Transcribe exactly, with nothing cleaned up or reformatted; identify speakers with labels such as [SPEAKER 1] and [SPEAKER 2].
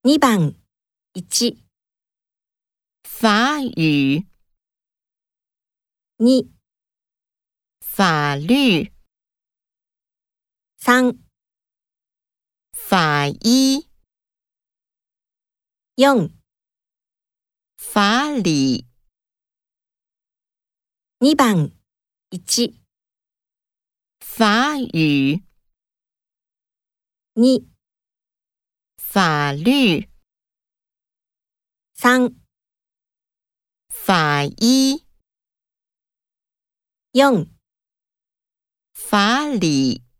[SPEAKER 1] にばんいち、
[SPEAKER 2] 法语、
[SPEAKER 1] に、
[SPEAKER 2] 法律、
[SPEAKER 1] さん、
[SPEAKER 2] 法医、
[SPEAKER 1] よん、
[SPEAKER 2] 法理、
[SPEAKER 1] にばんいち、
[SPEAKER 2] 法语、
[SPEAKER 1] に、
[SPEAKER 2] 法律、
[SPEAKER 1] さん、
[SPEAKER 2] 法医、
[SPEAKER 1] よん、
[SPEAKER 2] 法理。